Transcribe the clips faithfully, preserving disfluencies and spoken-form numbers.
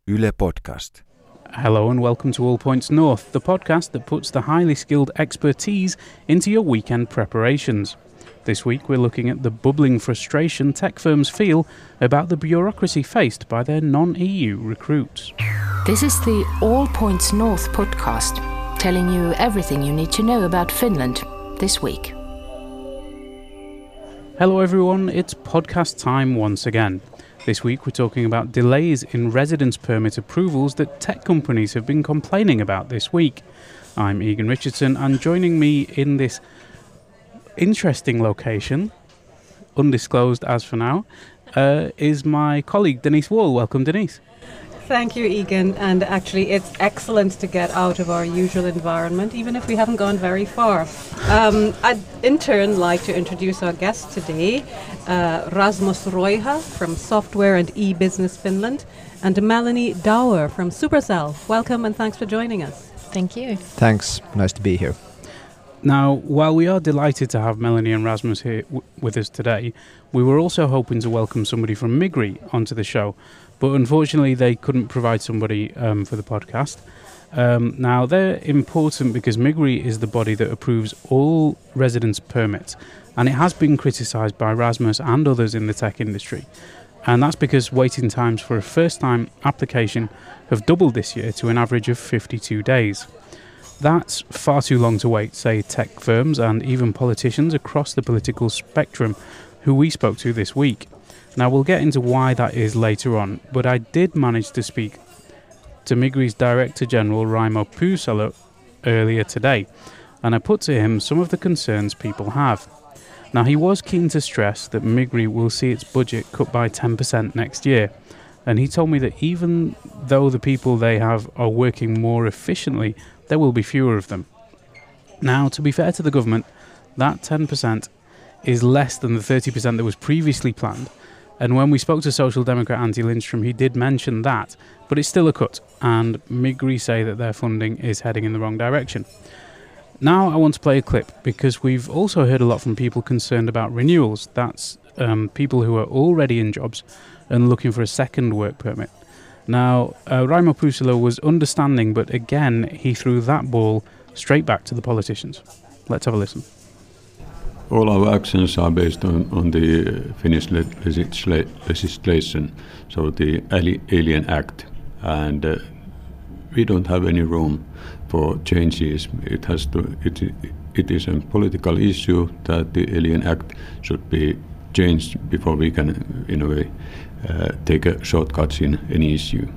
Yle Podcast. Hello and welcome to All Points North, the podcast that puts the highly skilled expertise into your weekend preparations. This week we're looking at the bubbling frustration tech firms feel about the bureaucracy faced by their non-E U recruits. This is the All Points North podcast, telling you everything you need to know about Finland this week. Hello everyone, it's podcast time once again. This week we're talking about delays in residence permit approvals that tech companies have been complaining about this week. I'm Egan Richardson, and joining me in this interesting location, undisclosed as for now, uh, is my colleague Denise Wall. Welcome, Denise. Thank you, Egan, and actually it's excellent to get out of our usual environment, even if we haven't gone very far. Um, I'd in turn like to introduce our guest today, uh, Rasmus Roiha from Software and E-Business Finland, and Melanie Dower from Supercell. Welcome and thanks for joining us. Thank you. Thanks, nice to be here. Now, while we are delighted to have Melanie and Rasmus here w- with us today, we were also hoping to welcome somebody from Migri onto the show, but unfortunately they couldn't provide somebody um, for the podcast. Um, now, they're important because Migri is the body that approves all residence permits, and it has been criticised by Rasmus and others in the tech industry. And that's because waiting times for a first-time application have doubled this year to an average of fifty-two days. That's far too long to wait, say tech firms and even politicians across the political spectrum who we spoke to this week. Now, we'll get into why that is later on, but I did manage to speak to Migri's Director General Raimo Pyysalo earlier today, and I put to him some of the concerns people have. Now, he was keen to stress that Migri will see its budget cut by ten percent next year, and he told me that even though the people they have are working more efficiently, there will be fewer of them. Now, to be fair to the government, that ten percent is less than the thirty percent that was previously planned. And when we spoke to Social Democrat Antti Lindström, he did mention that, but it's still a cut, and Migri say that their funding is heading in the wrong direction. Now I want to play a clip, because we've also heard a lot from people concerned about renewals. That's um, people who are already in jobs and looking for a second work permit. Now, uh, Raimo Pyysalo was understanding, but again, he threw that ball straight back to the politicians. Let's have a listen. All our actions are based on, on the Finnish le- legisla- legislation, so the Ali- Alien Act, and uh, we don't have any room for changes. It has to. It, it is a political issue that the Alien Act should be changed before we can, in a way, uh, take a shortcuts in any issue.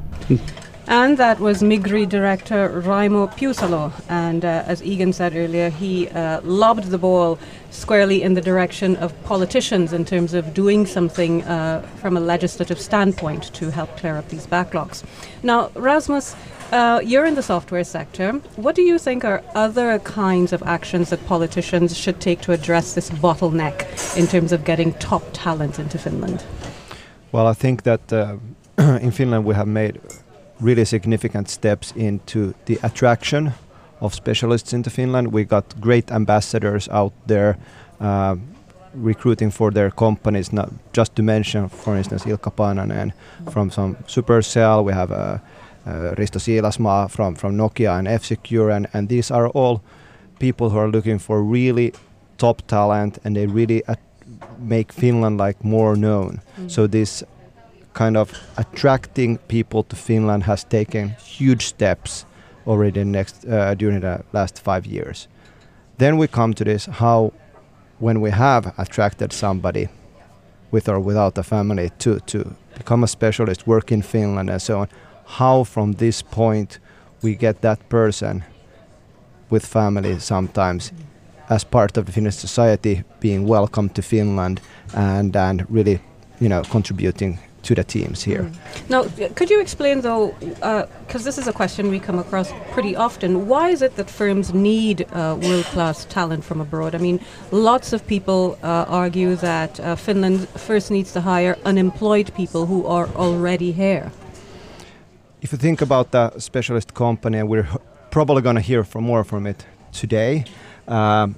And that was Migri Director Raimo Pyysalo, and uh, as Egan said earlier, he uh, lobbed the ball squarely in the direction of politicians in terms of doing something uh, from a legislative standpoint to help clear up these backlogs. Now, Rasmus, uh, you're in the software sector. What do you think are other kinds of actions that politicians should take to address this bottleneck in terms of getting top talent into Finland? Well, I think that uh, in Finland we have made really significant steps into the attraction of specialists into Finland. We got great ambassadors out there uh, recruiting for their companies, not just to mention, for instance, Ilkka Paananen from some Supercell. We have uh, uh, Risto Siilasmaa from, from Nokia and F-Secure, and, and these are all people who are looking for really top talent, and they really at- make Finland like more known. Mm. So this kind of attracting people to Finland has taken huge steps already next uh, during the last five years. Then we come to this, how when we have attracted somebody with or without a family to, to become a specialist, work in Finland and so on, how from this point we get that person with family sometimes as part of the Finnish society being welcomed to Finland and, and really, you know, contributing to the teams here. Mm. Now, could you explain though, because uh, this is a question we come across pretty often, why is it that firms need uh, world-class talent from abroad? I mean, lots of people uh, argue that uh, Finland first needs to hire unemployed people who are already here. If you think about the specialist company, and we're probably going to hear from more from it today, um,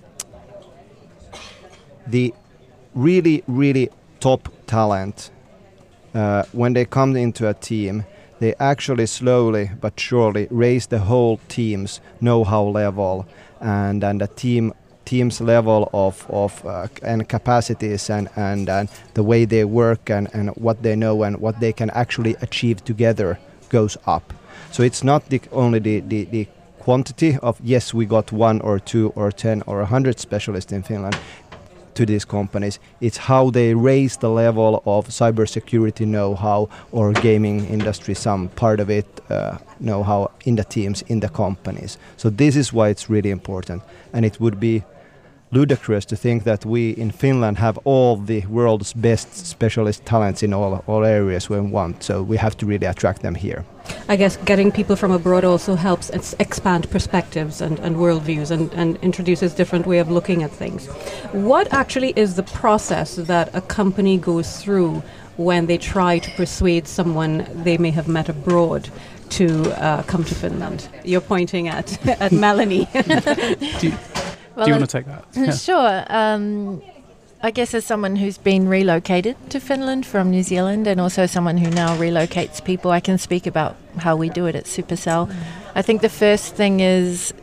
the really, really top talent, Uh, when they come into a team, they actually slowly but surely raise the whole team's know-how level and and the team team's level of of uh, and capacities and, and and the way they work and and what they know and what they can actually achieve together goes up. So it's not the only the the, the quantity of yes we got one or two or ten or a hundred specialists in Finland to these companies. It's how they raise the level of cybersecurity know-how or gaming industry, some part of it uh, know-how in the teams, in the companies. So this is why it's really important. And it would be ludicrous to think that we in Finland have all the world's best specialist talents in all, all areas we want. So we have to really attract them here. I guess getting people from abroad also helps ex- expand perspectives and, and worldviews and, and introduces different way of looking at things. What actually is the process that a company goes through when they try to persuade someone they may have met abroad to uh, come to Finland? You're pointing at, at Melanie. Do you, well, do you want to take that? Yeah. Sure. Um, I guess as someone who's been relocated to Finland from New Zealand and also someone who now relocates people, I can speak about how we do it at Supercell. Mm. I think the first thing is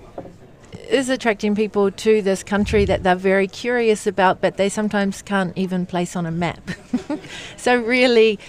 is attracting people to this country that they're very curious about, but they sometimes can't even place on a map. So really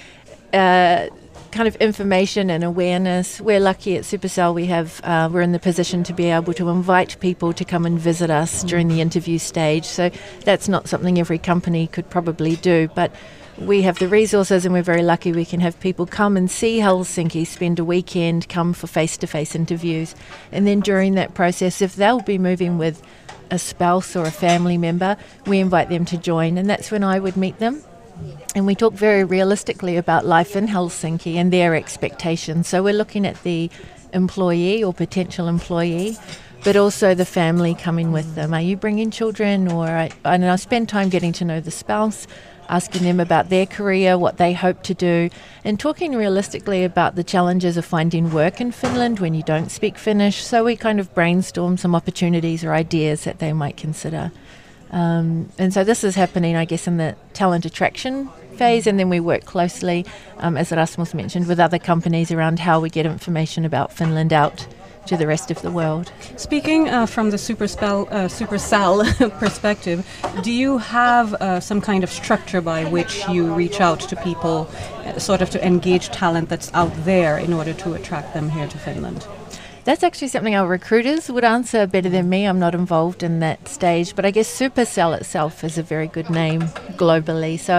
uh, kind of information and awareness. We're lucky at Supercell we have, uh, we're in the position to be able to invite people to come and visit us during the interview stage. So that's not something every company could probably do, but we have the resources and we're very lucky we can have people come and see Helsinki, spend a weekend, come for face-to-face interviews. And then during that process, if they'll be moving with a spouse or a family member, we invite them to join, and that's when I would meet them. And we talk very realistically about life in Helsinki and their expectations. So we're looking at the employee or potential employee, but also the family coming with them. Are you bringing children? Or I, and I spend time getting to know the spouse, asking them about their career, what they hope to do, and talking realistically about the challenges of finding work in Finland when you don't speak Finnish. So we kind of brainstorm some opportunities or ideas that they might consider. Um, and so this is happening, I guess, in the talent attraction phase, and then we work closely, um, as Rasmus mentioned, with other companies around how we get information about Finland out to the rest of the world. Speaking uh, from the Supercell, uh, Supercell perspective, do you have uh, some kind of structure by which you reach out to people, uh, sort of to engage talent that's out there in order to attract them here to Finland? That's actually something our recruiters would answer better than me. I'm not involved in that stage, but I guess Supercell itself is a very good name globally. So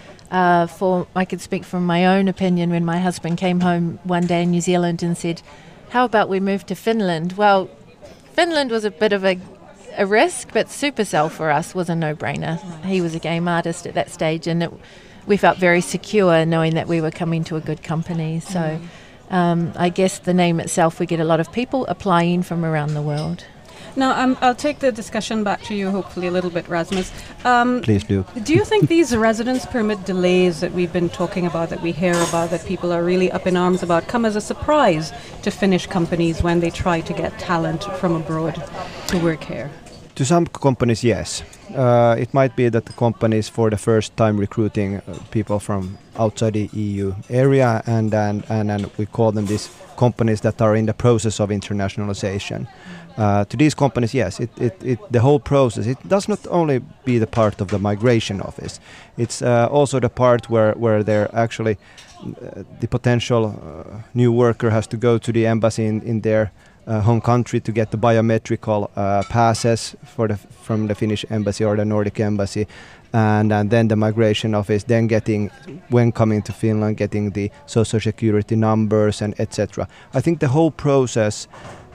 uh, for I could speak from my own opinion when my husband came home one day in New Zealand and said, how about we move to Finland? Well, Finland was a bit of a, a risk, but Supercell for us was a no-brainer. He was a game artist at that stage, and it, we felt very secure knowing that we were coming to a good company. So. Mm. Um, I guess the name itself, we get a lot of people applying from around the world. Now, um, I'll take the discussion back to you, hopefully a little bit, Rasmus. Um, Please do. Do you think these residence permit delays that we've been talking about, that we hear about, that people are really up in arms about, come as a surprise to Finnish companies when they try to get talent from abroad to work here? To some companies, yes. Uh, it might be that the companies for the first time recruiting uh, people from outside the E U area, and, and, and, and we call them these companies that are in the process of internationalization. Uh, to these companies, yes, it, it, it, the whole process, it does not only be the part of the migration office, it's uh, also the part where, where they're actually, uh, the potential uh, new worker has to go to the embassy in, in their Uh, home country to get the biometrical uh, passes for the from the Finnish embassy or the Nordic embassy, and, and then the migration office, then getting, when coming to Finland, getting the social security numbers and et cetera. I think the whole process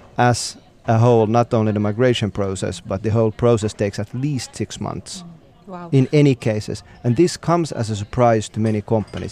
as a whole, not only the migration process, but the whole process takes at least six months. Wow. In any cases, and this comes as a surprise to many companies.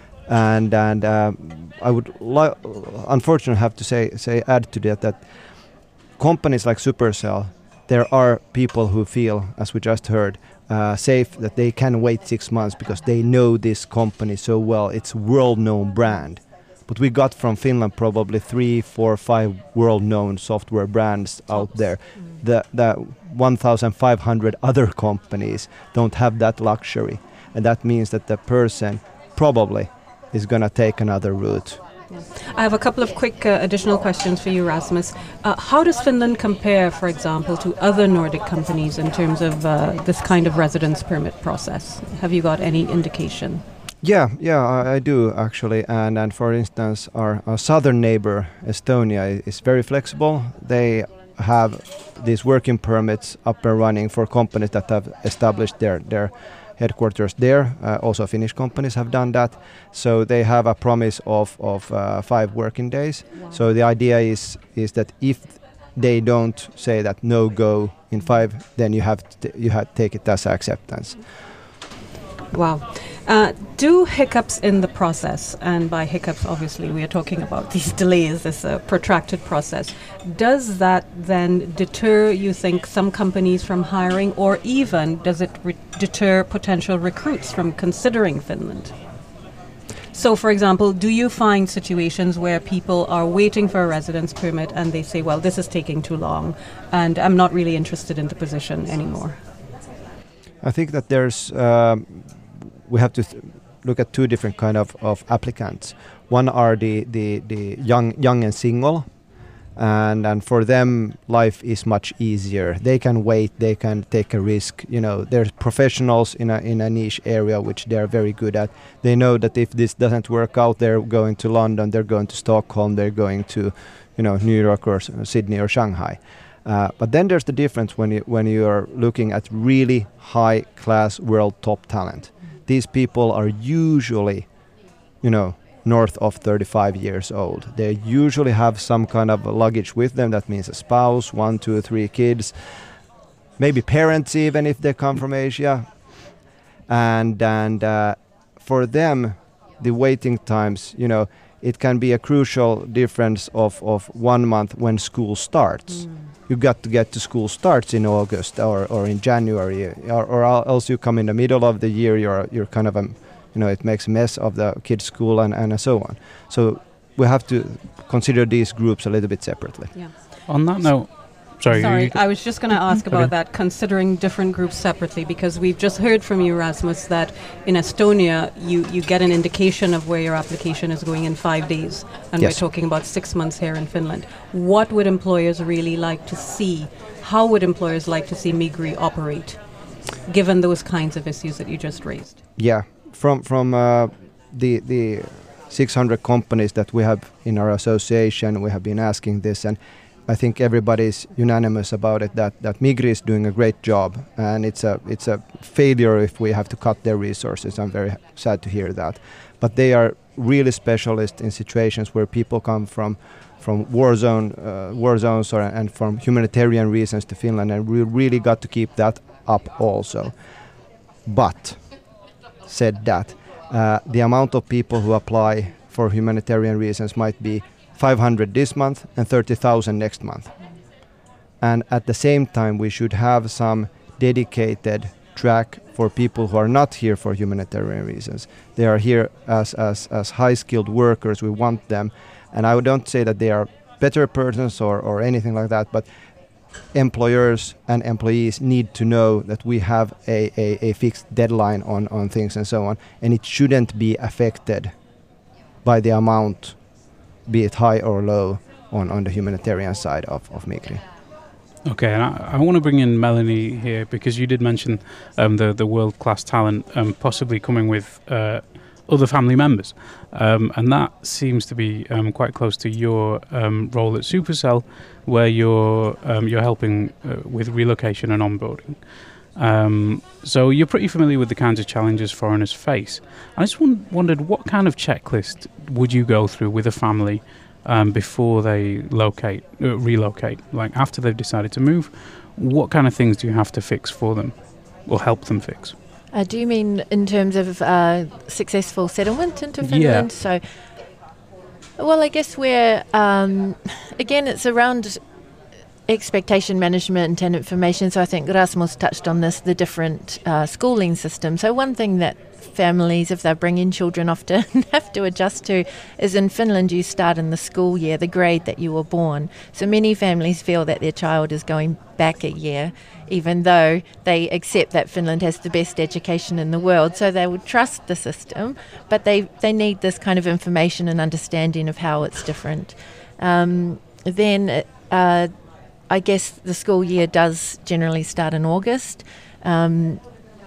And and uh, I would li- unfortunately have to say say add to that that companies like Supercell, there are people who feel, as we just heard, uh, safe that they can wait six months because they know this company so well. It's a world-known brand. But we got from Finland probably three, four, five world-known software brands out there. Mm. The the one thousand five hundred other companies don't have that luxury, and that means that the person probably is going to take another route I have a couple of quick uh, additional questions for you, Rasmus. Uh, how does Finland compare, for example, to other Nordic companies in terms of uh, this kind of residence permit process? Have you got any indication? Yeah, yeah, I, I do actually. And and for instance, our, our southern neighbor Estonia is very flexible. They have these working permits up and running for companies that have established their their headquarters there. Uh, also Finnish companies have done that. So they have a promise of, of uh, five working days. Wow. So the idea is is that if they don't say that no go in five, then you have to you have to take it as acceptance. Wow. Uh, do hiccups in the process, and by hiccups obviously we are talking about these delays, this uh, protracted process, does that then deter, you think, some companies from hiring, or even does it re- deter potential recruits from considering Finland? So, for example, do you find situations where people are waiting for a residence permit and they say, well, this is taking too long and I'm not really interested in the position anymore? I think that there's... Um, we have to th- look at two different kind of, of applicants. One are the, the, the young young and single, and and for them life is much easier. They can wait, they can take a risk. You know, they're professionals in a in a niche area which they're very good at. They know that if this doesn't work out, they're going to London, they're going to Stockholm, they're going to, you know, New York or Sydney or Shanghai. Uh, but then there's the difference when you when you are looking at really high class world top talent. These people are usually, you know, north of thirty-five years old. They usually have some kind of luggage with them. That means a spouse, one, two, three kids, maybe parents even if they come from Asia. And and uh, for them, the waiting times, you know, it can be a crucial difference of, of one month when school starts. Mm. You got to get to school starts in August or, or in January, or, or else you come in the middle of the year. You're you're kind of a, you know, it makes a mess of the kids' school and, and so on. So we have to consider these groups a little bit separately. Yeah. On that note, sorry, sorry, I was just going to ask about that, considering different groups separately, because we've just heard from you, Rasmus, that in Estonia you, you get an indication of where your application is going in five days, and yes. We're talking about six months here in Finland. What would employers really like to see? How would employers like to see Migri operate, given those kinds of issues that you just raised? Yeah, from from uh, the the six hundred companies that we have in our association, we have been asking this, and I think everybody's unanimous about it that, that Migri is doing a great job, and it's a it's a failure if we have to cut their resources. I'm very sad to hear that. But they are really specialists in situations where people come from from war zone uh, war zones or, and from humanitarian reasons to Finland, and we really got to keep that up also. But said that, uh, the amount of people who apply for humanitarian reasons might be five hundred this month and thirty thousand next month. And at the same time, we should have some dedicated track for people who are not here for humanitarian reasons. They are here as, as, as high-skilled workers. We want them. And I don't say that they are better persons or, or anything like that, but employers and employees need to know that we have a, a, a fixed deadline on, on things and so on. And it shouldn't be affected by the amount, be it high or low, on, on the humanitarian side of, of Migri. Okay, and I, I want to bring in Melanie here, because you did mention um, the, the world-class talent um, possibly coming with uh, other family members. Um, and that seems to be um, quite close to your um, role at Supercell, where you're, um, you're helping uh, with relocation and onboarding. Um, so you're pretty familiar with the kinds of challenges foreigners face. I just w- wondered, what kind of checklist would you go through with a family um, before they locate, uh, relocate? Like after they've decided to move, what kind of things do you have to fix for them or help them fix? Uh, do you mean in terms of uh, successful settlement into Finland? Yeah. So, well, I guess we're, um, again, it's around expectation management and information. So I think Rasmus touched on this, the different uh, schooling systems. So one thing that families, if they're bringing children, often have to adjust to is in Finland you start in the school year, the grade that you were born. So many families feel that their child is going back a year, even though they accept that Finland has the best education in the world. So they would trust the system, but they, they need this kind of information and understanding of how it's different. Um, then uh, I guess the school year does generally start in August. Um,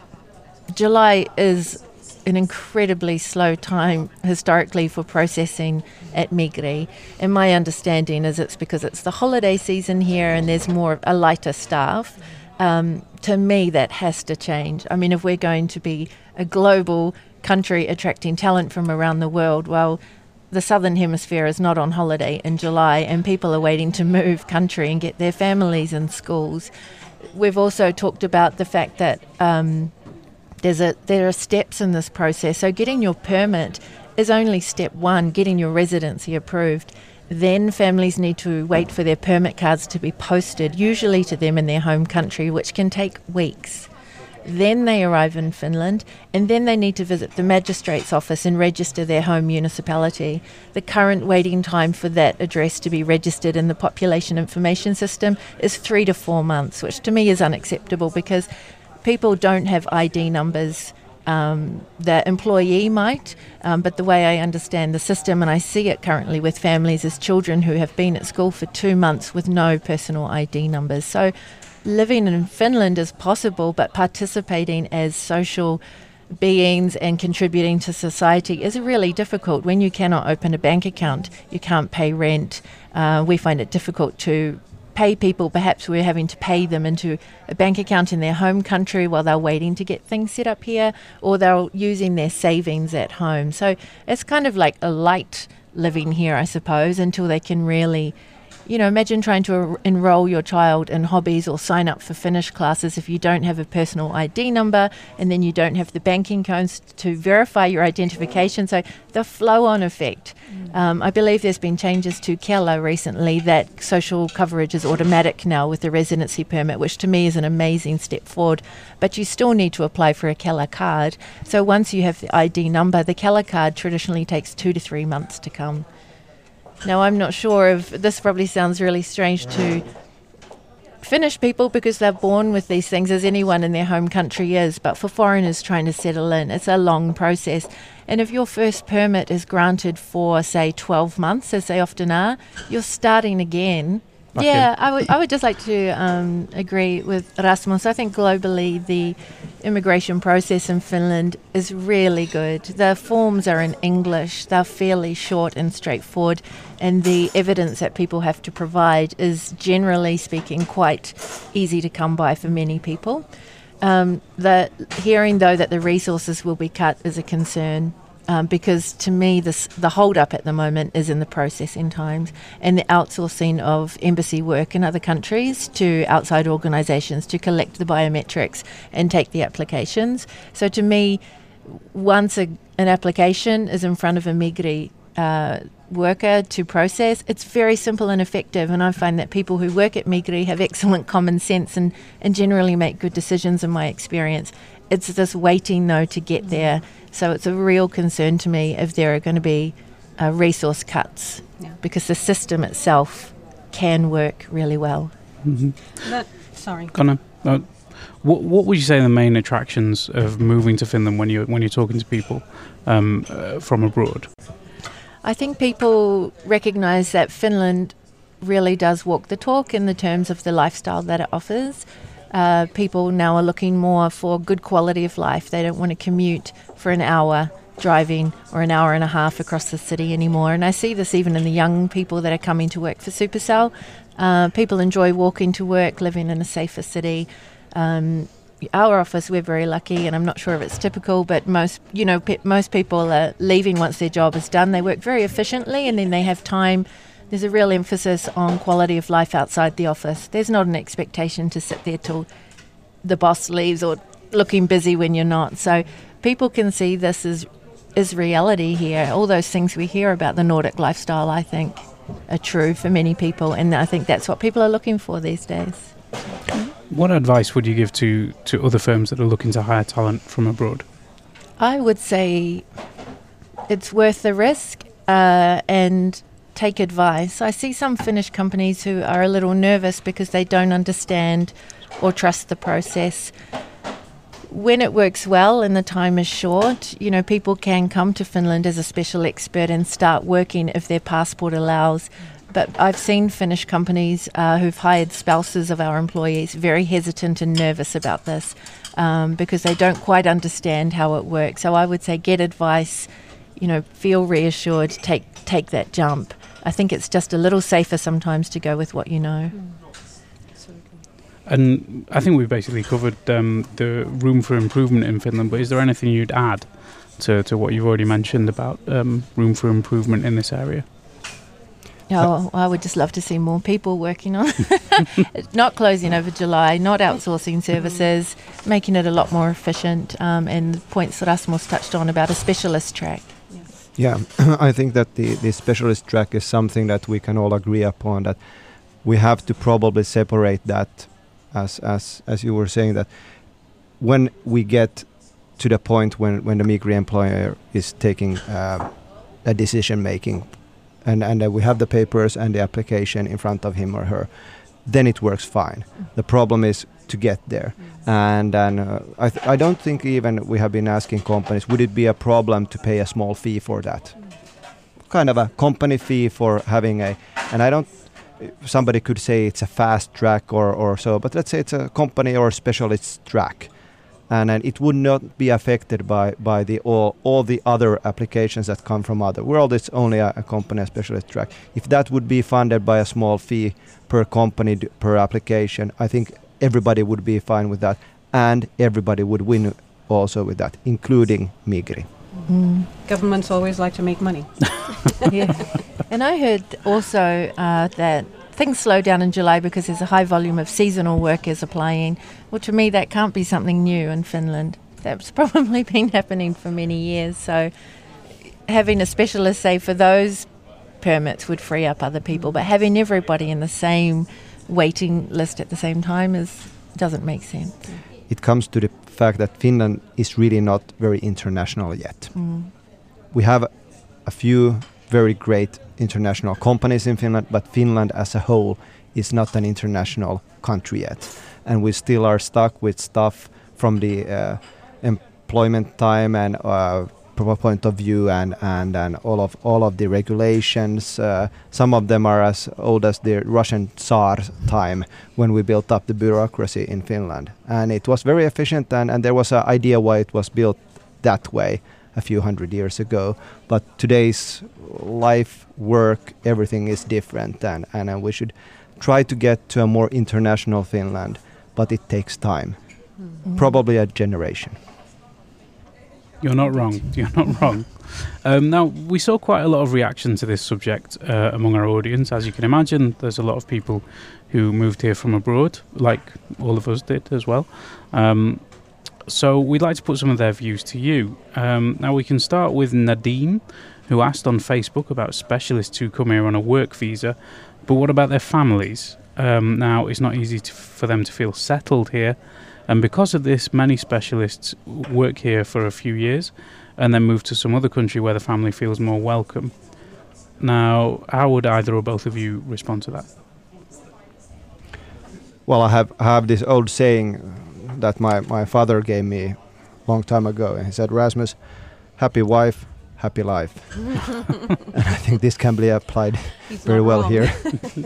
July is an incredibly slow time historically for processing at Migri. And my understanding is it's because it's the holiday season here and there's more a lighter staff. Um, to me, that has to change. I mean, if we're going to be a global country attracting talent from around the world, well, the Southern Hemisphere is not on holiday in July and people are waiting to move country and get their families in schools. We've also talked about the fact that um, there's a there are steps in this process. So getting your permit is only step one, getting your residency approved. Then families need to wait for their permit cards to be posted, usually to them in their home country, which can take weeks. Then they arrive in Finland, and then they need to visit the magistrate's office and register their home municipality. The current waiting time for that address to be registered in the population information system is three to four months, which to me is unacceptable because people don't have I D numbers. Um, the employee might, um, but the way I understand the system, and I see it currently with families, is children who have been at school for two months with no personal I D numbers. So living in Finland is possible, but participating as social beings and contributing to society is really difficult. When you cannot open a bank account, you can't pay rent. Uh, we find it difficult to pay people. Perhaps we're having to pay them into a bank account in their home country while they're waiting to get things set up here, or they're using their savings at home. So it's kind of like a light living here, I suppose, until they can really, you know, imagine trying to er- enroll your child in hobbies or sign up for Finnish classes if you don't have a personal I D number and then you don't have the banking codes to verify your identification. So the flow-on effect. Mm. Um, I believe there's been changes to Kela recently that social coverage is automatic now with the residency permit, which to me is an amazing step forward. But you still need to apply for a Kela card. So once you have the I D number, the Kela card traditionally takes two to three months to come. Now, I'm not sure if this probably sounds really strange to Finnish people because they're born with these things, as anyone in their home country is, but for foreigners trying to settle in, it's a long process. And if your first permit is granted for, say, twelve months, as they often are, you're starting again. Okay. Yeah, I would I would just like to um, agree with Rasmus. I think globally the immigration process in Finland is really good. The forms are in English, they're fairly short and straightforward, and the evidence that people have to provide is generally speaking quite easy to come by for many people. Um, the hearing though that the resources will be cut is a concern. Um, because to me, this, the hold-up at the moment is in the processing times and the outsourcing of embassy work in other countries to outside organisations to collect the biometrics and take the applications. So to me, once a, an application is in front of a Migri uh, worker to process, it's very simple and effective. And I find that people who work at Migri have excellent common sense and, and generally make good decisions in my experience. It's this waiting, though, to get there. So it's a real concern to me if there are going to be uh, resource cuts, yeah. because the system itself can work really well. Mm-hmm. That, sorry. Connor, uh, what, what would you say are the main attractions of moving to Finland when you're, when you're talking to people um, uh, from abroad? I think people recognise that Finland really does walk the talk in the terms of the lifestyle that it offers. Uh, people now are looking more for good quality of life. They don't want to commute for an hour driving or an hour and a half across the city anymore. And I see this even in the young people that are coming to work for Supercell. Uh, people enjoy walking to work, living in a safer city. Um, our office, we're very lucky, and I'm not sure if it's typical, but most, you know, pe- most people are leaving once their job is done. They work very efficiently, and then they have time. There's a real emphasis on quality of life outside the office. There's not an expectation to sit there till the boss leaves or looking busy when you're not. So people can see this as, as reality here. All those things we hear about the Nordic lifestyle, I think. are true for many people, and I think that's what people are looking for these days. What advice would you give to, to other firms that are looking to hire talent from abroad? I would say it's worth the risk uh, and take advice. I see some Finnish companies who are a little nervous because they don't understand or trust the process. When it works well and the time is short, you know, people can come to Finland as a special expert and start working if their passport allows. But I've seen Finnish companies uh, who've hired spouses of our employees very hesitant and nervous about this um, because they don't quite understand how it works. So I would say get advice, you know, feel reassured, take take that jump. I think it's just a little safer sometimes to go with what you know. Mm. And I think we've basically covered um, the room for improvement in Finland, but is there anything you'd add to, to what you've already mentioned about um, room for improvement in this area? Oh, I would just love to see more people working on it. Not closing over July, not outsourcing services, making it a lot more efficient, um, and the points that Rasmus touched on about a specialist track. Yeah, I think that the, the specialist track is something that we can all agree upon, that we have to probably separate that, as as as you were saying, that when we get to the point when, when the Migri employer is taking uh, a decision making, and, and uh, we have the papers and the application in front of him or her, then it works fine. The problem is to get there. And, and uh, I, th- I don't think even we have been asking companies, would it be a problem to pay a small fee for that? Kind of a company fee for having a, and I don't, somebody could say it's a fast track or, or so, but let's say it's a company or specialist track. And, and it would not be affected by, by the all, all the other applications that come from other world. It's only a, a company, a specialist track. If that would be funded by a small fee per company, d- per application, I think everybody would be fine with that, and everybody would win also with that, including Migri. Mm. Governments always like to make money. Yeah. And I heard also uh, that things slow down in July because there's a high volume of seasonal workers applying. Well, to me, that can't be something new in Finland. That's probably been happening for many years. So having a specialist, say, for those permits would free up other people, but having everybody in the same waiting list at the same time is doesn't make sense. It comes to the fact that Finland is really not very international yet. Mm. We have a few very great international companies in Finland, but Finland as a whole is not an international country yet. And we still are stuck with stuff from the uh, employment time and uh, point of view, and, and, and all of all of the regulations. Uh, some of them are as old as the Russian Tsar time, when we built up the bureaucracy in Finland. And it was very efficient, and, and there was an idea why it was built that way a few hundred years ago. But today's life, work, everything is different, and, and, and we should try to get to a more international Finland, but it takes time, mm-hmm. probably a generation. You're not wrong. You're not wrong. Um, now, we saw quite a lot of reaction to this subject uh, among our audience. As you can imagine, there's a lot of people who moved here from abroad, like all of us did as well. Um, so we'd like to put some of their views to you. Um, now, we can start with Nadine, who asked on Facebook about specialists who come here on a work visa, but what about their families? Um, now, it's not easy to, for them to feel settled here. And because of this, many specialists work here for a few years and then move to some other country where the family feels more welcome. Now, how would either or both of you respond to that? Well, I have I have this old saying that my, my father gave me a long time ago. And he said, Rasmus, happy wife, happy life. And I think this can be applied He's very well wrong. here.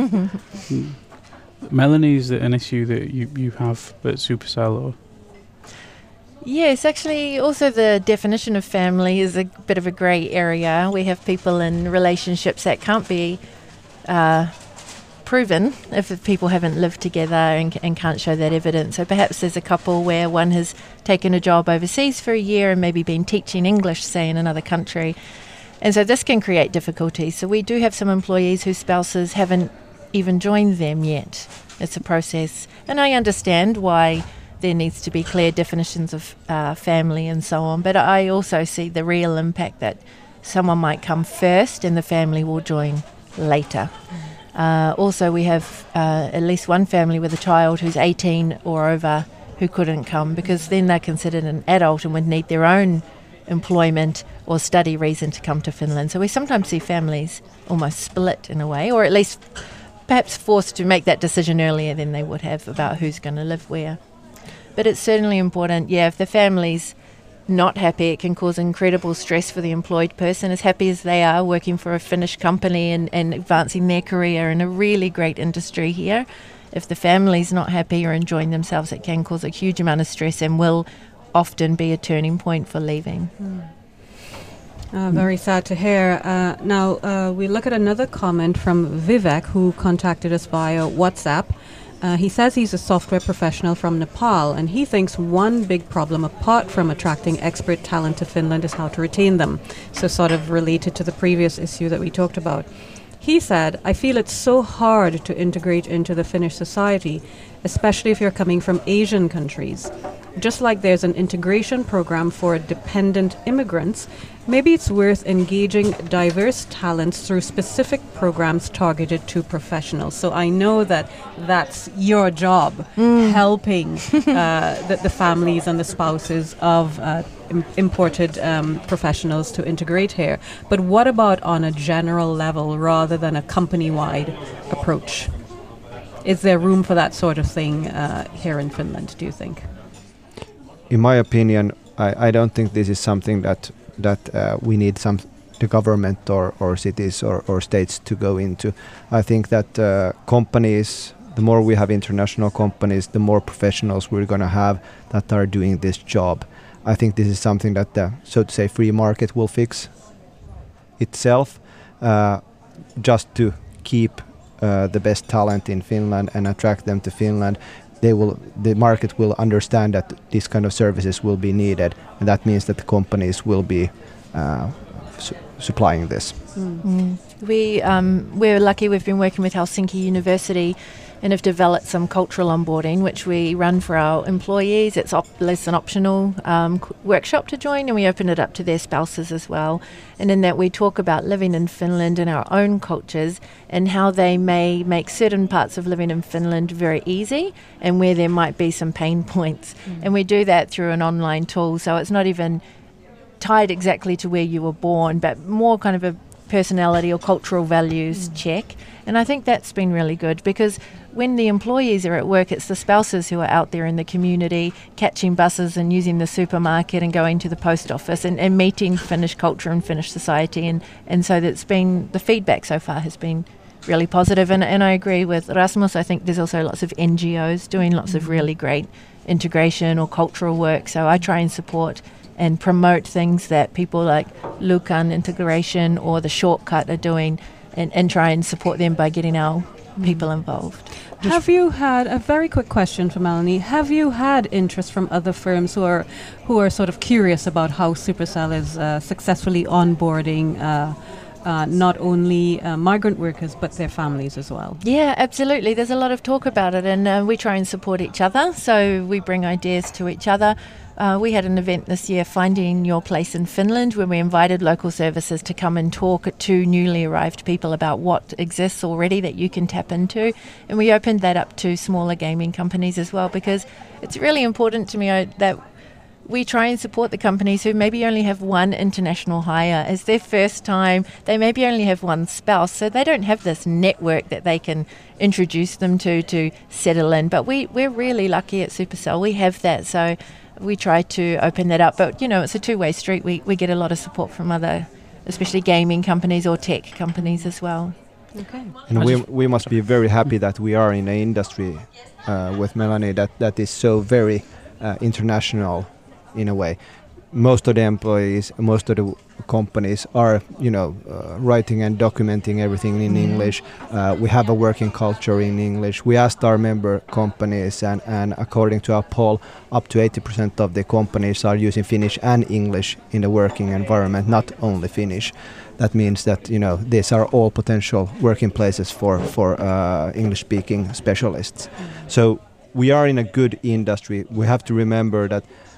Melanie, is it an issue that you, you have at Supercell? Or? Yes, actually, also the definition of family is a bit of a grey area. We have people in relationships that can't be uh, proven if people haven't lived together and, and can't show that evidence. So perhaps there's a couple where one has taken a job overseas for a year and maybe been teaching English, say, in another country. And so this can create difficulties. So we do have some employees whose spouses haven't even joined them yet. It's a process. And I understand why there needs to be clear definitions of uh, family and so on. But I also see the real impact that someone might come first and the family will join later. Uh, also, we have uh, at least one family with a child who's eighteen or over who couldn't come because then they're considered an adult and would need their own employment or study reason to come to Finland. So we sometimes see families almost split in a way, or at least perhaps forced to make that decision earlier than they would have about who's going to live where. But it's certainly important, yeah, if the family's not happy, it can cause incredible stress for the employed person, as happy as they are working for a Finnish company and, and advancing their career in a really great industry here. If the family's not happy or enjoying themselves, it can cause a huge amount of stress and will often be a turning point for leaving. Mm. Uh, very sad to hear. Uh, now, uh, we look at another comment from Vivek, who contacted us via WhatsApp. Uh, he says he's a software professional from Nepal, and he thinks one big problem, apart from attracting expert talent to Finland, is how to retain them. So sort of related to the previous issue that we talked about. He said, I feel it's so hard to integrate into the Finnish society, especially if you're coming from Asian countries. Just like there's an integration program for dependent immigrants, maybe it's worth engaging diverse talents through specific programs targeted to professionals. So I know that that's your job, mm. helping uh, the, the families and the spouses of uh, im- imported um, professionals to integrate here. But what about on a general level rather than a company-wide approach? Is there room for that sort of thing uh, here in Finland, do you think? In my opinion, I, I don't think this is something that that uh, we need some the government or, or cities or, or states to go into. I think that uh, companies, the more we have international companies, the more professionals we're going to have that are doing this job. I think this is something that the, so to say, free market will fix itself, uh, just to keep uh, the best talent in Finland and attract them to Finland. They will, the market will understand that this kind of services will be needed, and that means that the companies will be uh, su- supplying this. Mm. Mm. We um, we're lucky. We've been working with Helsinki University and have developed some cultural onboarding, which we run for our employees. It's op- less an optional um, workshop to join, and we open it up to their spouses as well. And in that we talk about living in Finland and our own cultures and how they may make certain parts of living in Finland very easy and where there might be some pain points. Mm. And we do that through an online tool, so it's not even tied exactly to where you were born, but more kind of a personality or cultural values mm. check. And I think that's been really good, because when the employees are at work, it's the spouses who are out there in the community catching buses and using the supermarket and going to the post office and, and meeting Finnish culture and Finnish society. And, and so that's been, the feedback so far has been really positive. And, and I agree with Rasmus. I think there's also lots of N G Os doing lots mm. of really great integration or cultural work. So I try and support and promote things that people like Lukan Integration or The Shortcut are doing, and, and try and support them by getting our people involved. Have you had, a very quick question for Melanie, have you had interest from other firms who are who are sort of curious about how Supercell is uh, successfully onboarding uh, uh, not only uh, migrant workers but their families as well? Yeah, absolutely. There's a lot of talk about it, and uh, we try and support each other. So we bring ideas to each other. Uh, we had an event this year, Finding Your Place in Finland, where we invited local services to come and talk to newly arrived people about what exists already that you can tap into. And we opened that up to smaller gaming companies as well, because it's really important to me uh, that we try and support the companies who maybe only have one international hire as their first time. They maybe only have one spouse, so they don't have this network that they can introduce them to to settle in. But we, we're really lucky at Supercell. We have that, so we try to open that up. But, you know, it's a two-way street. We, we get a lot of support from other, especially gaming companies or tech companies as well. Okay. And we, we must be very happy that we are in an industry uh, with Melanie that, that is so very uh, international in a way. Most of the employees, most of the companies are, you know, uh, writing and documenting everything in mm. English. Uh, we have a working culture in English. We asked our member companies, and, and according to our poll, up to eighty percent of the companies are using Finnish and English in the working environment, not only Finnish. That means that, you know, these are all potential working places for, for uh, English-speaking specialists. Mm. So we are in a good industry. We have to remember that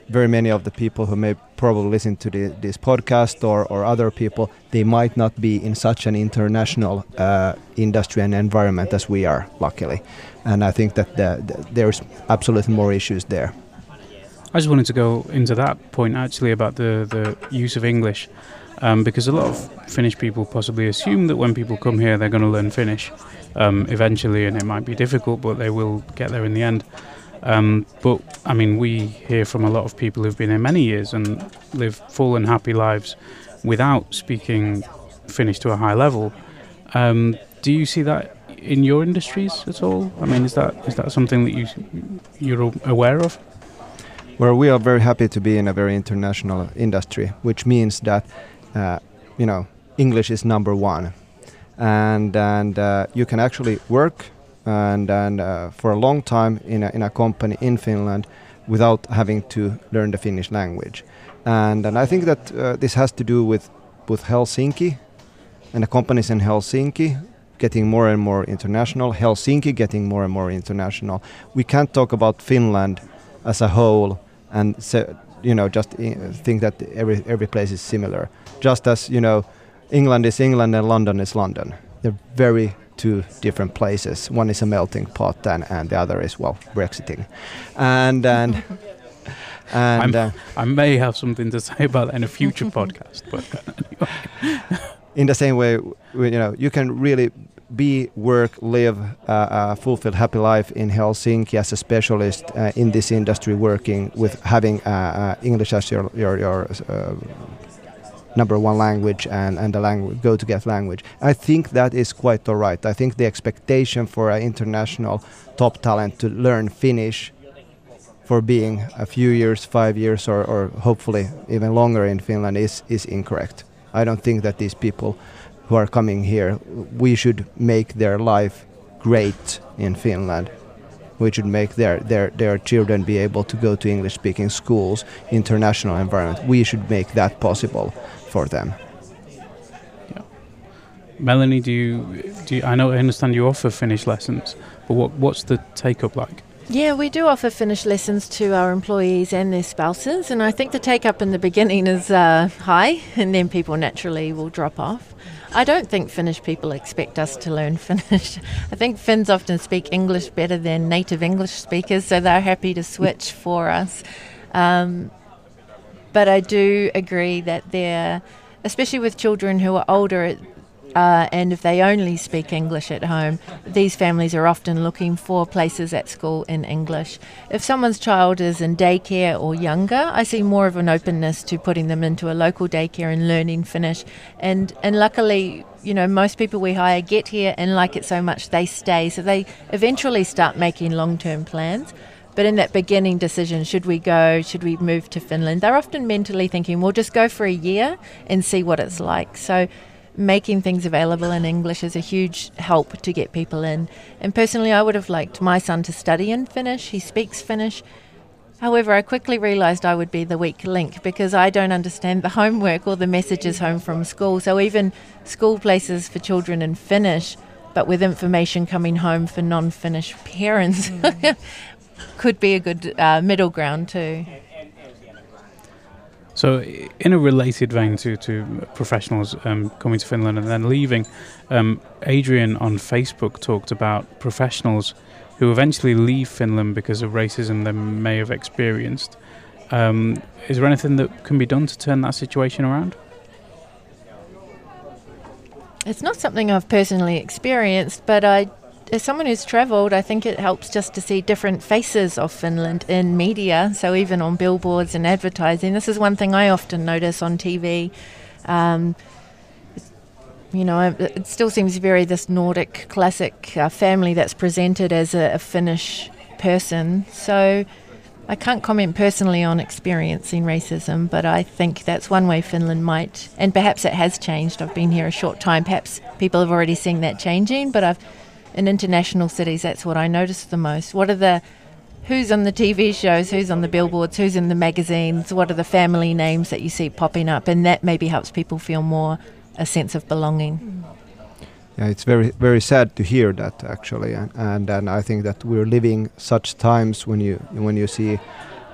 very many of the people who may probably listen to the, this podcast or, or other people, they might not be in such an international uh, industry and environment as we are, luckily. And I think that the, the, there's absolutely more issues there. I just wanted to go into that point actually about the, the use of English, um, because a lot of Finnish people possibly assume that when people come here they're going to learn Finnish um, eventually, and it might be difficult, but they will get there in the end. Um, but, I mean, we hear from a lot of people who've been here many years and live full and happy lives without speaking Finnish to a high level. Um, do you see that in your industries at all? I mean, is that is that something that you, you're aware of? Well, we are very happy to be in a very international industry, which means that, uh, you know, English is number one. And, and uh, you can actually work and, and uh, for a long time in a, in a company in Finland without having to learn the Finnish language. And, and I think that uh, this has to do with, with Helsinki and the companies in Helsinki getting more and more international, Helsinki getting more and more international. We can't talk about Finland as a whole and so, you know, just I- think that every every place is similar. Just as, you know, England is England and London is London. They're very two different places. One is a melting pot and, and the other is, well, Brexiting. And and and uh, I may have something to say about that in a future podcast, but anyway. In the same way, you know, you can really be, work, live uh, a fulfilled, happy life in Helsinki as a specialist uh, in this industry, working with having uh, uh, English as your your, your uh, number one language and, and the language, go-to-get language. I think that is quite all right. I think the expectation for an international top talent to learn Finnish for being a few years, five years, or, or hopefully even longer in Finland is, is incorrect. I don't think that these people who are coming here, we should make their life great in Finland. We should make their, their, their children be able to go to English-speaking schools, international environment. We should make that possible for them. Yeah. Melanie, do you, do you, I know, I understand you offer Finnish lessons, but what, what's the take-up like? Yeah, we do offer Finnish lessons to our employees and their spouses, and I think the take-up in the beginning is uh, high, and then people naturally will drop off. I don't think Finnish people expect us to learn Finnish. I think Finns often speak English better than native English speakers, so they're happy to switch for us. Um, but I do agree that they're, especially with children who are older, Uh, and if they only speak English at home, these families are often looking for places at school in English. If someone's child is in daycare or younger, I see more of an openness to putting them into a local daycare and learning Finnish. And and luckily, you know, most people we hire get here and like it so much they stay. So they eventually start making long-term plans. But in that beginning decision, should we go, should we move to Finland, they're often mentally thinking, we'll just go for a year and see what it's like. So making things available in English is a huge help to get people in. And personally, I would have liked my son to study in Finnish. He speaks Finnish. However, I quickly realised I would be the weak link because I don't understand the homework or the messages home from school. So even school places for children in Finnish, but with information coming home for non-Finnish parents, mm. could be a good uh, middle ground too. So in a related vein to, to professionals um, coming to Finland and then leaving, um, Adrian on Facebook talked about professionals who eventually leave Finland because of racism they may have experienced. Um, is there anything that can be done to turn that situation around? It's not something I've personally experienced, but I as someone who's travelled, I think it helps just to see different faces of Finland in media, so even on billboards and advertising. This is one thing I often notice on T V. Um, you know, it still seems very this Nordic classic uh, family that's presented as a, a Finnish person. So I can't comment personally on experiencing racism, but I think that's one way Finland might, and perhaps it has changed. I've been here a short time. Perhaps people have already seen that changing, but I've in international cities, that's what I notice the most. What are the, who's on the T V shows, who's on the billboards, who's in the magazines, what are the family names that you see popping up, and that maybe helps people feel more a sense of belonging. Yeah, it's very, very sad to hear that actually, and and, and I think that we're living such times when you when you see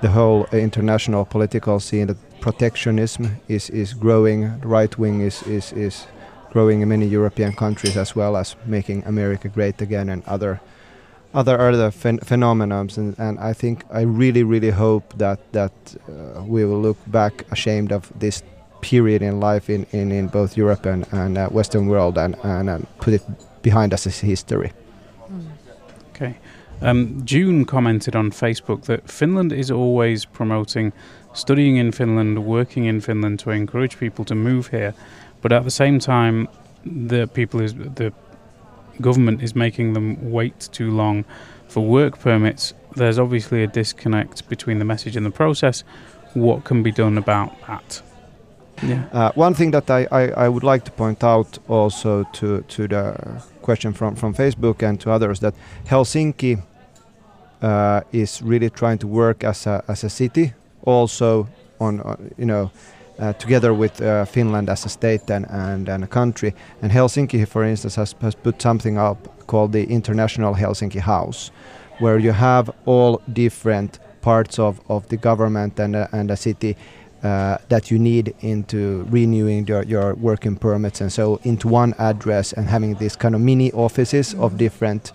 the whole international political scene, that protectionism is, is growing, the right wing is, is, is growing in many European countries, as well as making America great again and other other other phen phenomena. And, and I think I really, really hope that, that uh, we will look back ashamed of this period in life in, in, in both Europe and, and uh, Western world and, and, and put it behind us as history. Mm. Okay. Um, June commented on Facebook that Finland is always promoting studying in Finland, working in Finland to encourage people to move here, but at the same time, the people is the government is making them wait too long for work permits. There's obviously a disconnect between the message and the process. What can be done about that? Yeah. Uh, one thing that I, I, I would like to point out also to, to the question from, from Facebook and to others, that Helsinki uh, is really trying to work as a, as a city, also on, uh, you know, uh, together with uh, Finland as a state and, and, and a country. And Helsinki, for instance, has, has put something up called the International Helsinki House, where you have all different parts of, of the government and, uh, and a city Uh, that you need into renewing your, your working permits, and so into one address, and having these kind of mini offices of different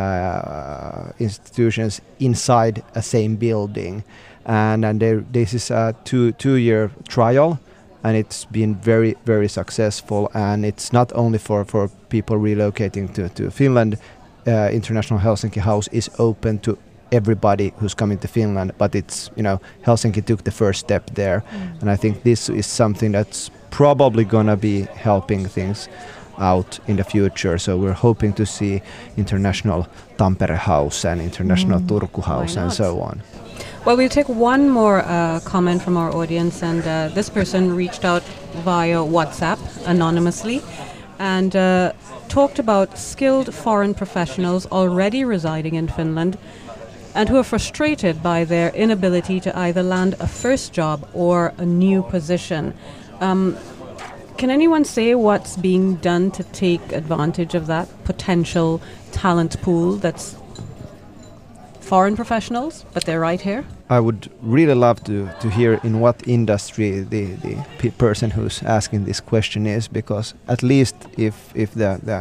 uh, institutions inside a same building. And, and there, this is a two two year trial, and it's been very very successful. And it's not only for, for people relocating to, to Finland. Uh, International Helsinki House is open to everybody who's coming to Finland, but it's, you know, Helsinki took the first step there. Mm. And I think this is something that's probably gonna be helping things out in the future. So we're hoping to see International Tampere House and International mm. Turku House and so on. Well, we'll take one more uh, comment from our audience, and uh, this person reached out via WhatsApp anonymously and uh, talked about skilled foreign professionals already residing in Finland and who are frustrated by their inability to either land a first job or a new position. Um, can anyone say what's being done to take advantage of that potential talent pool that's foreign professionals, but they're right here? I would really love to, to hear in what industry the, the pe person who's asking this question is, because at least if, if the, the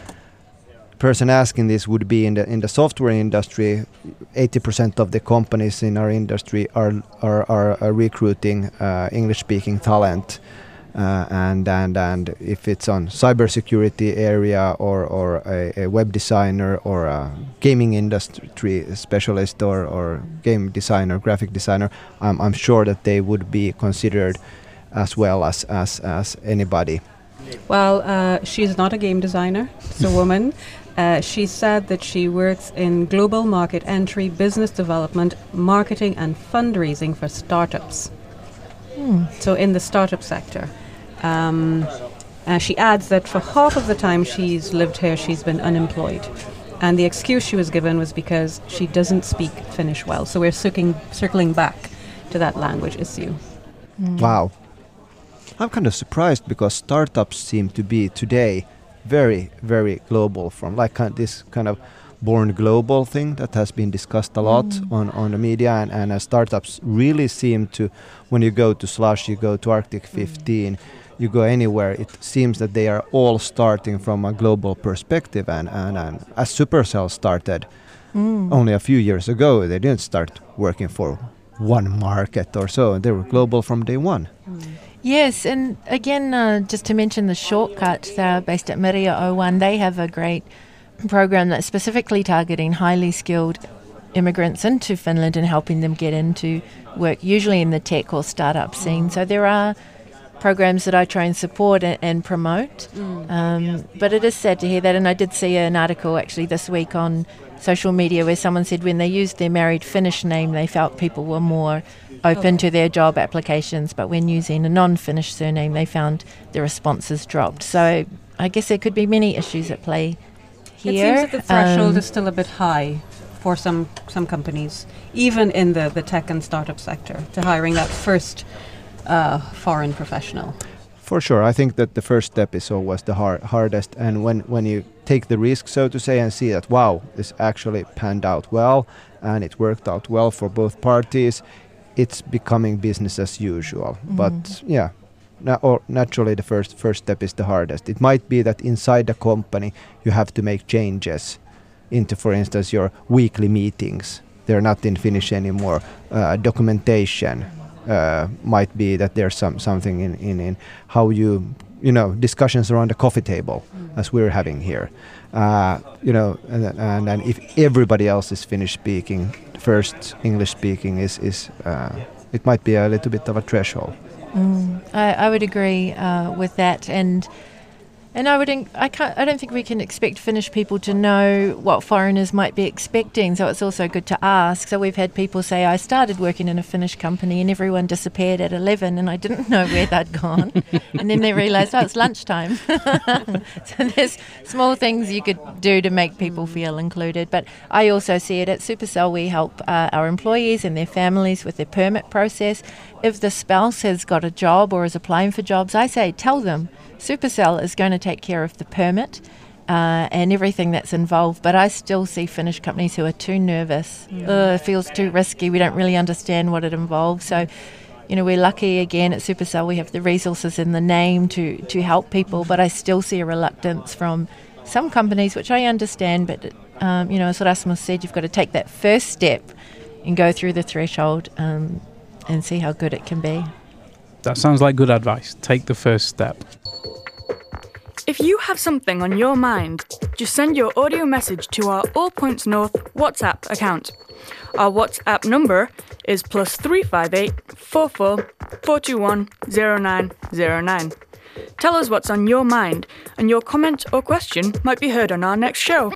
person asking this would be in the in the software industry, eighty percent of the companies in our industry are are, are, are recruiting uh, English-speaking talent, uh, and and and if it's on cybersecurity area or or a, a web designer or a gaming industry specialist or or game designer, graphic designer, I'm I'm sure that they would be considered as well as as as anybody. Well, uh, she's not a game designer; it's a woman. Uh, she said that she works in global market entry, business development, marketing and fundraising for startups. Mm. So in the startup sector. Um, uh, she adds that for half of the time she's lived here, she's been unemployed. And the excuse she was given was because she doesn't speak Finnish well. So we're circling, circling back to that language issue. Mm. Wow. I'm kind of surprised, because startups seem to be today very, very global, from like kind of this kind of born global thing that has been discussed a lot mm. on, on the media, and, and uh, startups really seem to, when you go to Slush, you go to Arctic fifteen, mm. you go anywhere, it seems that they are all starting from a global perspective, and, and, and as Supercell started mm. only a few years ago, they didn't start working for one market or so, they were global from day one. Mm. Yes, and again, uh, just to mention the Shortcut, they're based at Meria oh one. They have a great program that's specifically targeting highly skilled immigrants into Finland and helping them get into work, usually in the tech or startup scene. So there are programs that I try and support and, and promote. Mm. Um, but it is sad to hear that, and I did see an article actually this week on social media where someone said when they used their married Finnish name, they felt people were more open to their job applications, but when using a non-Finnish surname, they found the responses dropped. So I guess there could be many issues at play here. It seems that the threshold um, is still a bit high for some some companies, even in the, the tech and startup sector, to hiring that first uh, foreign professional. For sure, I think that the first step is always the hard, hardest, and when, when you take the risk, so to say, and see that, wow, this actually panned out well, and it worked out well for both parties, it's becoming business as usual. Mm-hmm. But yeah, na- or naturally the first first step is the hardest. It might be that inside the company you have to make changes into, for instance, your weekly meetings. They're not in Finnish anymore. Uh, documentation uh, might be that there's some something in, in, in how you, you know, discussions around the coffee table, mm. as we're having here. Uh, you know, and, and, and if everybody else is Finnish speaking, first English speaking is, is uh, it might be a little bit of a threshold. Mm, I, I would agree uh, with that, and and I would in, I can't I don't think we can expect Finnish people to know what foreigners might be expecting. So it's also good to ask. So we've had people say, I started working in a Finnish company and everyone disappeared at eleven, and I didn't know where they'd gone, and then they realised, oh, it's lunchtime. So there's small things you could do to make people feel included. But I also see it at Supercell. We help uh, our employees and their families with their permit process. If the spouse has got a job or is applying for jobs, I say tell them Supercell is going to take care of the permit uh, and everything that's involved. But I still see Finnish companies who are too nervous. Yeah. Ugh, it feels too risky. We don't really understand what it involves. So, you know, we're lucky again at Supercell. We have the resources in the name to, to help people. But I still see a reluctance from some companies, which I understand. But, um, you know, as Rasmus said, you've got to take that first step and go through the threshold um, and see how good it can be. That sounds like good advice. Take the first step. If you have something on your mind, just send your audio message to our All Points North WhatsApp account. Our WhatsApp number is plus three five eight, four four, four two one, zero nine zero nine. Tell us what's on your mind, and your comment or question might be heard on our next show.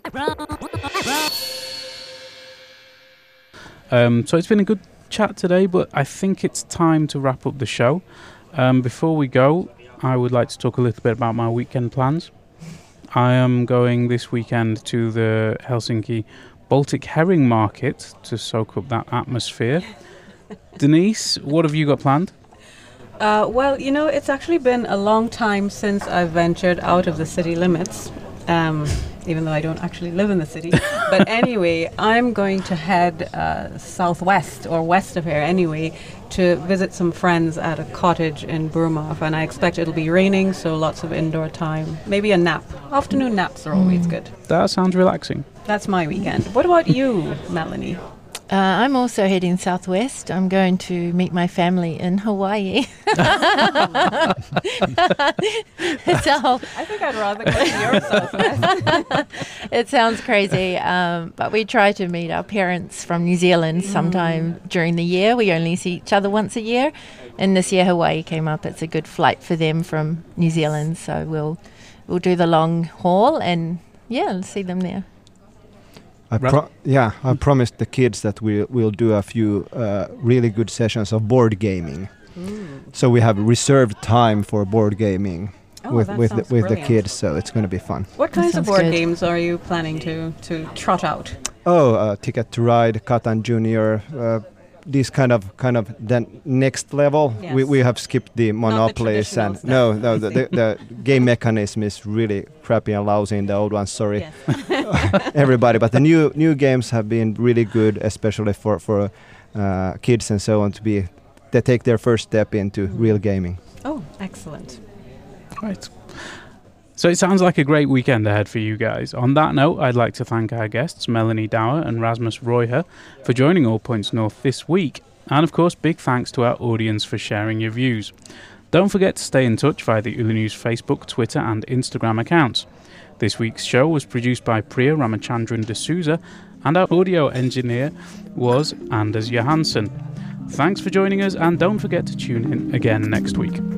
Um, so it's been a good chat today, but I think it's time to wrap up the show. Um, before we go, I would like to talk a little bit about my weekend plans. I am going this weekend to the Helsinki Baltic Herring Market to soak up that atmosphere. Denise, what have you got planned? Uh, well, you know, it's actually been a long time since I've ventured out of the city limits, um, even though I don't actually live in the city. But anyway, I'm going to head uh, southwest or west of here anyway to visit some friends at a cottage in Burmah, and I expect it'll be raining, so lots of indoor time. Maybe a nap. Afternoon naps are always Mm. good. That sounds relaxing. That's my weekend. What about you, Melanie? Uh, I'm also heading southwest. I'm going to meet my family in Hawaii. So I think I'd rather go to your southwest. it sounds crazy, um, but we try to meet our parents from New Zealand sometime mm. during the year. We only see each other once a year, and this year Hawaii came up. It's a good flight for them from New Zealand, so we'll we'll do the long haul and yeah, see them there. I pro- yeah, I promised the kids that we will do a few uh, really good sessions of board gaming. Mm. So we have reserved time for board gaming oh, with with the, with the kids. So it's going to be fun. What kinds that of board good. games are you planning to to trot out? Oh, uh, Ticket to Ride, Catan Junior. Uh, these kind of kind of the next level. Yes. We we have skipped the monopolies and stuff, no no the, the, the game mechanism is really crappy and lousy in the old ones. Sorry, Yes. everybody. But the new new games have been really good, especially for for uh, kids and so on to be they take their first step into mm. real gaming. Oh, excellent! Right. So it sounds like a great weekend ahead for you guys. On that note, I'd like to thank our guests, Melanie Dower and Rasmus Roiher, for joining All Points North this week. And of course, big thanks to our audience for sharing your views. Don't forget to stay in touch via the Yle News Facebook, Twitter and Instagram accounts. This week's show was produced by Priya Ramachandran D'Souza, and our audio engineer was Anders Johansson. Thanks for joining us, and don't forget to tune in again next week.